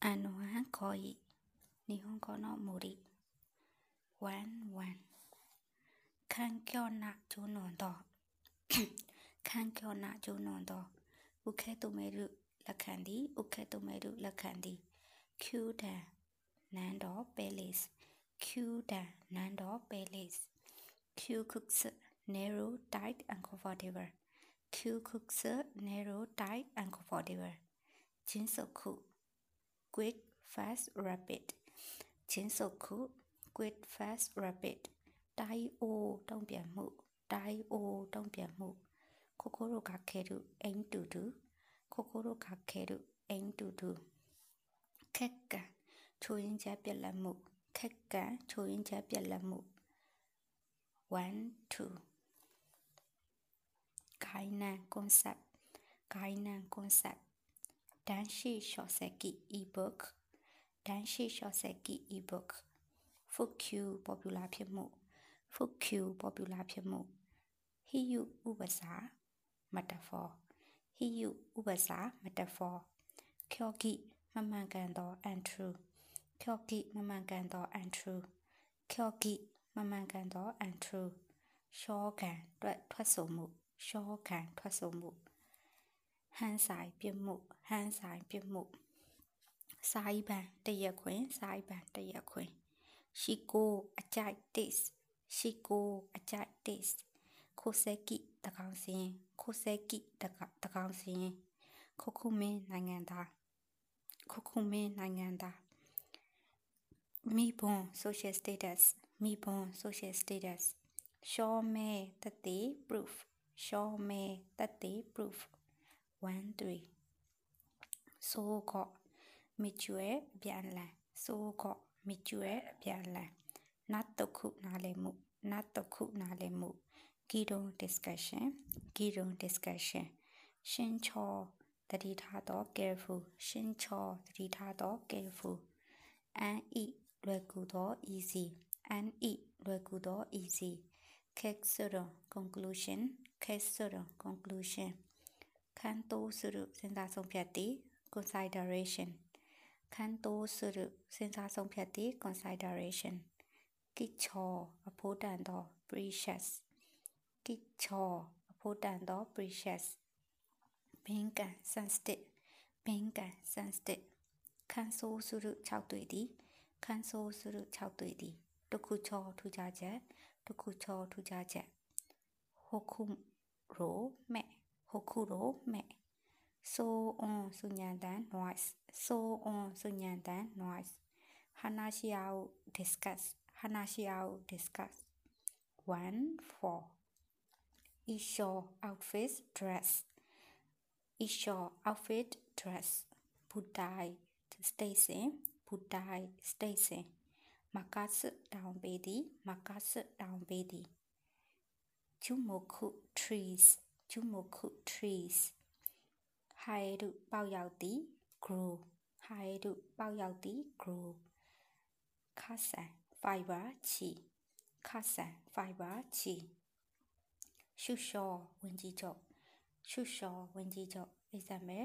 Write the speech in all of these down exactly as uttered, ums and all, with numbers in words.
あのはこい日本語の森ワンワン環境なジョノンド環境なジョノンド受け止めるラカンディ受け止めるラカンディキューダ何度ベリスキューダ何度ベリスキュークス narrow tight and comfortable キュークス narrow tight and comfortable 迅速quick, fast, rapid 迅速 quick, fast, rapid 対応တုံ့ပြန်မှု対応တုံ့ပြန်မှု心がける aim to do 心がける aim to do ခက်ကချိုးရင်းချက်ပြက်လက်မှုခက်ကချိုးရင်းချက်ပြက်လက်မှု one two 概念 concept 概念 concept Dan shi Shoseki ebook Dan shi Shoseki ebook Fukyu popular ဖြစ်မှု Fukyu popular ဖြစ်မှု Hiyu ဥပစာ metaphor Hiyu ဥပစာ metaphor Kyogi မမှန်ကန်သော untrue Kyogi မမှန်ကန်သော untrue Kyogi မမှန်ကန်သော untrue ရှောကန်တွက်ထွက်ဆိုမှုရှောကန်ထွက်ဆိုမှုဟန်ဆိုင်ပြမှုဟန်ဆိုင်ပြမှုစာရေးပန်တရက်ခွင်စာရေးပန်တရက်ခွင်ရှိကိုအကြိုက် taste ရှိကိုအကြိုက် taste ခိုဆဲကိတကောင်စင်ခိုဆဲကိတကောင်စင်ခုခုမင်းနိုင်ငံသားခုခုမင်းနိုင်ငံသားမိဘွန် social status မိဘွန် social status ရှောမဲတတိ proof ရှောမဲတတိ proof one three ဆိုကောမီကျွဲအပြန်လန်ဆိုကောမီကျွဲအပြန်လန်နတ်တခုနားလည်မှုနတ်တခုနားလည်မှု Gidon discussion Gidon discussion ရှင်းချောတတိထားတော့ careful ရှင်းချောတတိထားတော့ careful and eat လွယ်ကူတော့ easy and eat လွယ်ကူတော့ easy cake sort conclusion cake sort conclusionခန်းတိုးစုစဉ်းစားဆုံးဖြတ်သည် consideration ခန်းတိုးစုစဉ်းစားဆုံးဖြတ်သည် consideration ကိချောအဖို့တန်သော precious ကိချောအဖို့တန်သော precious ဘင်းကန် sensitive ဘင်းကန် sensitive ခန်းဆိုးစု၆တွေ့သည်ခန်းဆိုးစု၆တွေ့သည်တခုချောထူကြချက်တခုချောထူကြချက်ဟိုခုရိုမဲဟိုခုရိုမဲ so on စုညံတန် noise so on စုညံတန် noise ဟာနာရှိယာကို discuss ဟာနာရှိယာကို discuss one four isho outfit dress isho outfit dress budai station budai station makasu down baby makasu down baby jumoku trees jumoku trees ဟိုင်ရုပေါရောက်သည် grow ဟိုင်ရုပေါရောက်သည် grow ခါဆန် fiber ချီခါဆန် fiber ချီရှုရှောဝင်ကြီးချုပ်ရှုရှောဝင်ကြီးချုပ် example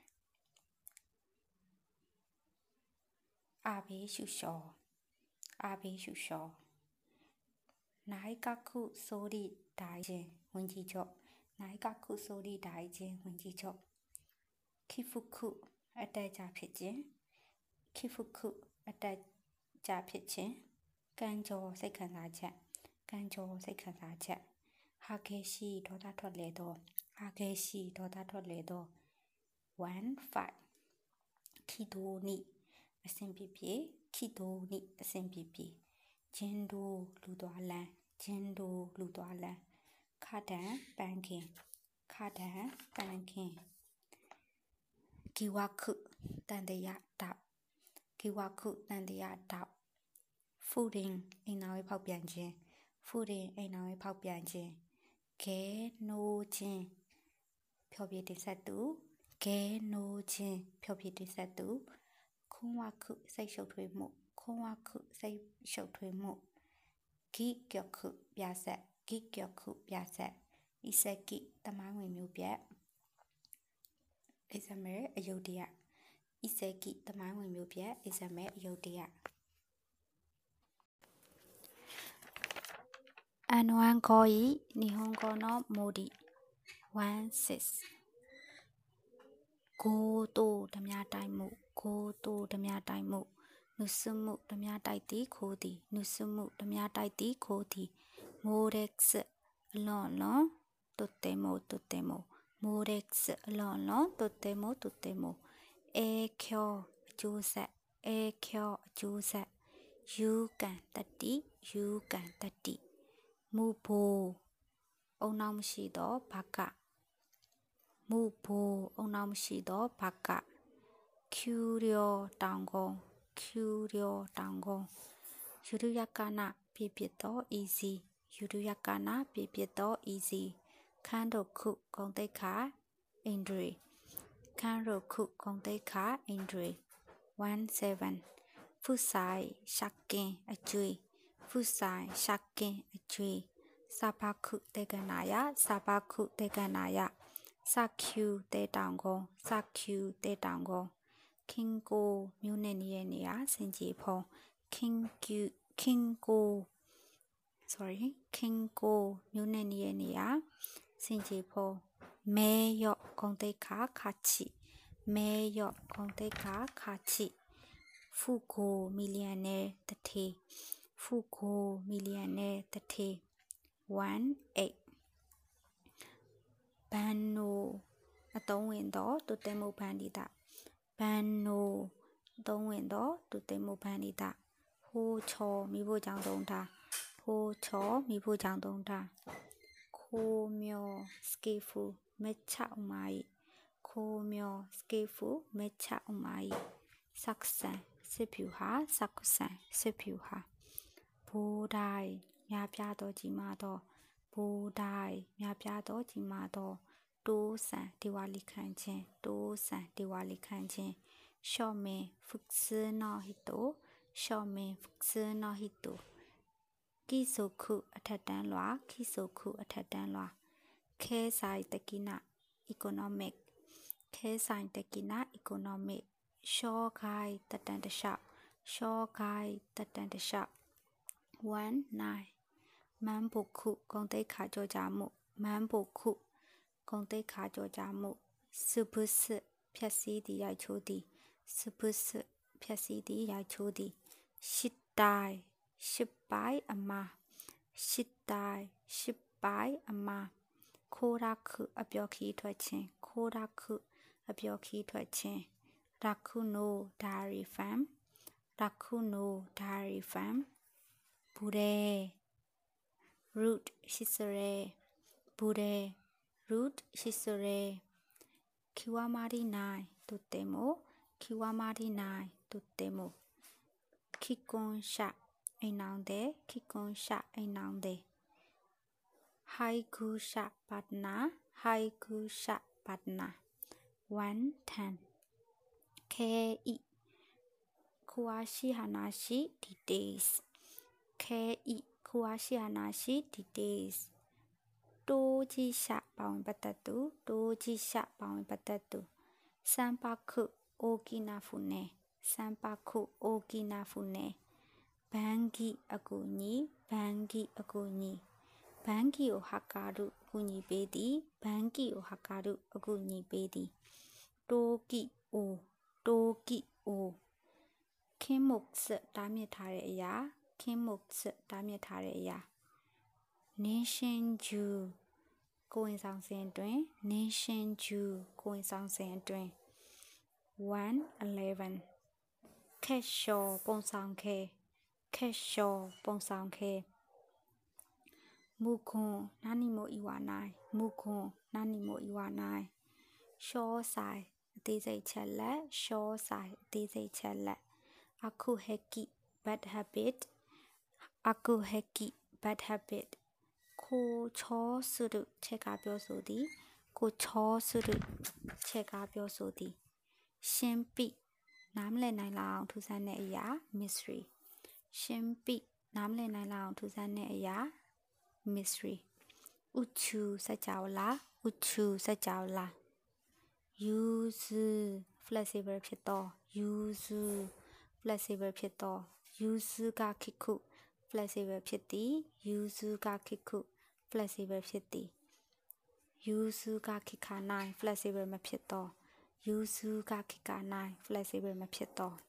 အာဘေးရှုရှောအာဘေးရှုရှောနိုင်ကခုဆိုရီဒိုင်ချင်းဝင်ကြီးချုပ်နိုင်ကခုဆိုရီဒိုင်ချင်းဝင်ကြီးချုပ်ခိဖုခုအတက်ကြဖြစ်ခြင်းခိဖုခုအတက်ကြဖြစ်ခြင်းကံကြောစိတ်ခံစားချက်ကံကြောစိတ်ခံစားချက်ဟာခဲရှိဒေါသထွက်လေတော့ဟာခဲရှိဒေါသထွက်လေတော့ one five ခိတိုနိအစဉ်ပြပြခိတိုနိအစဉ်ပြပြဂျင်းဒိုလူသွားလန်းဂျင်းဒိုလူသွားလန်းခါတန်ပန်းခင်ခါတန်ပန်းခင်ကိဝခုတန်တရတောက်ကိဝခုတန်တရတောက် fooding အိမ်နာဝေးဖောက်ပြန်ခြင်း fooding အိမ်နာဝေးဖောက်ပြန်ခြင်းခဲနိုးခြင်းဖြောပြတင်ဆက်သူခဲနိုးခြင်းဖြောပြတင်ဆက်သူခွန်ဝခုစိတ်ရှုပ်ထွေးမှုခွန်ဝခုစိတ်ရှုပ်ထွေးမှုဂိကျော်ခုပြဆက်ဂိကျော်ခုပြဆက်ဣစကိတမိုင်းဝင်မျိုးပြက် example အယုဒ္ဓယ伊勢基တမိုင်းဝင်မျိုးပြအိဇမဲအယုတ်တရအန်ဝမ်ကိုဤ日本語のモディ16ကိုတိုဓမြတိုက်မှုကိုတိုဓမြတိုက်မှုနုစမှုဓမြတိုက်သည်ခိုးသည်နုစမှုဓမြတိုက်သည်ခိုးသည်မိုရက်စ်အလွန်လွန်とてもとてもမိုရက်စ်အလွန်လွန်とてもとてもအေချောအကျိုးဆက်အေချောအကျိုးဆက်ယူကန်တတိယူကန်တတိမူဘိုအုံနောက်မရှိသောဘာကမူဘိုအုံနောက်မရှိသောဘာကကျူရီယိုတောင်ကုန်းကျူရီယိုတောင်ကုန်းယူရယကနာပြပြသော easy ယူရယကနာပြပြသော easy ခန်းတို့ခုဂုံတိတ်ခါအင်ဒရီခန်းတို့ခုဂုံတိတ်ခါအင်ဒရီ17ဖုဆိုင်ရှက်ကင်အကျွေးဖုဆိုင်ရှက်ကင်အကျွေးစာပခုတေကနာယစာပခုတေကနာယစကျူတေတောင်ကုန်းစကျူတေတောင်ကုန်းခင်ကိုမြို့နယ်နေရနေရစင်ကြီးဖုံခင်ကျူခင်ကို sorry ခင်ကိုမြို့နယ်နေရနေရစင်ကြီးဖုံမဲရော့ဂုံတိတ်ခါခါချီမဲရော့ဂုံတိတ်ခါခါချီဖူကိုမီလီယံနဲတထေဖူကိုမီလီယံနဲတထေ18ဘန်နိုအတုံးဝင်သောတုတေမုဘန္ဒီတာဘန်နိုအတုံးဝင်သောတုတေမုဘန္ဒီတာဟိုချောမိဖို့ကြောင့်သုံးတာဟိုချောမိဖို့ကြောင့်သုံးတာခိုမျောစကေဖူမချအမိုင်ခိုမျောစကေဖူမချအမိုင်ဆက်ဆန်စစ်ဖြူဟာဆက်ဆန်စစ်ဖြူဟာဘိုးတိုင်းများပြားသောကြီးမားသောဘိုးတိုင်းများပြားသောကြီးမားသောတိုးဆန်ဒီဝါလီခန့်ခြင်းတိုးဆန်ဒီဝါလီခန့်ခြင်းရှော့မင်ဖုကစနောဟီတိုရှော့မင်ဖုကစနောဟီတိုကီဆိုခုအထက်တန်းလွာကီဆိုခုအထက်တန်းလွာခဲဆိုင်တကိနာ economic ခဲဆိုင်တကိနာ economic ရှော့ခိုင်တတန်တလျှောက်ရှော့ခိုင်တတန်တလျှောက်19မန်ဘုခုဂုံတိတ်ခါကြောကြမှုမန်ဘုခုဂုံတိတ်ခါကြောကြမှုစုပုစဖြက်စီးသည်ရိုက်ချိုးသည်စုပုစဖြက်စီးသည်ရိုက်ချိုးသည်ရှစ်တိုင်းရှစ်ပိုင်းအမရှစ်တိုင်းရှစ်ပိုင်းအမခိုးရခုအပြောခီးထွက်ခြင်းခိုးရခုအပြောခီးထွက်ခြင်းရခုနိုဒါရီဖမ်ရခုနိုဒါရီဖမ်ဘူရဲ root ရှိစရဲဘူရဲ root ရှိစရဲキワマリないとてもキワマリないとてもキコンシャအိမ်နောင်တဲ့キコンシャအိမ်နောင်တဲ့ハイクシャパトナハイクシャパトナ110ケイ詳しい話 details ケイ詳しい話 details တိုးကြီးရှာပါဝင်ပတ်သက်သူတိုးကြီးရှာပါဝင်ပတ်သက်သူစမ်ပါခုအိုကီနာဖူနေစမ်ပါခုအိုကီနာဖူနေဘန်ဂီအကူညီဘန်ဂီအကူညီဘန်ဂီကိုဟာကာရုအကူညီပေးသည်ဘန်ဂီကိုဟာကာရုအကူညီပေးသည်တိုကီအိုတိုကီအိုခင်းမုတ်စတားမြစ်ထားတဲ့အရာခင်းမုတ်စတားမြစ်ထားတဲ့အရာNation Jew ကိုဝင်ဆောင်စဉ်အတွင်း Nation Jew ကိုဝင်ဆောင်စဉ်အတွင်း111 Keshaw ပုံဆောင်ခဲ Keshaw ပုံဆောင်ခဲမူခွန်နာနီမိုအီဝါနိုင်မူခွန်နာနီမိုအီဝါနိုင်ရှောဆိုင်အသေးစိတ်ချက်လက်ရှောဆိုင်အသေးစိတ်ချက်လက်အခုဟက်ကီ bad habit အခုဟက်ကီ bad habitကိုချောစုရုချက်ကပြောဆိုသည်ကိုချောစုရုချက်ကပြောဆိုသည်ရှင်းပိနားမလည်နိုင်လောက်ထူးဆန်းတဲ့အရာ mystery ရှင်းပိနားမလည်နိုင်လောက်ထူးဆန်းတဲ့အရာ mystery ဥချူစကြဝဠာဥချူစကြဝဠာ use flexible ဖြစ်သော yuzu flexible ဖြစ်သော yuzu ကခိခု flexible ဖြစ်သည် yuzu ကခိခု flexible ဖြစ်သည် yuzu ကခိခါနိုင် flexible မဖြစ်သော yuzu ကခိခါနိုင် flexible မဖြစ်သော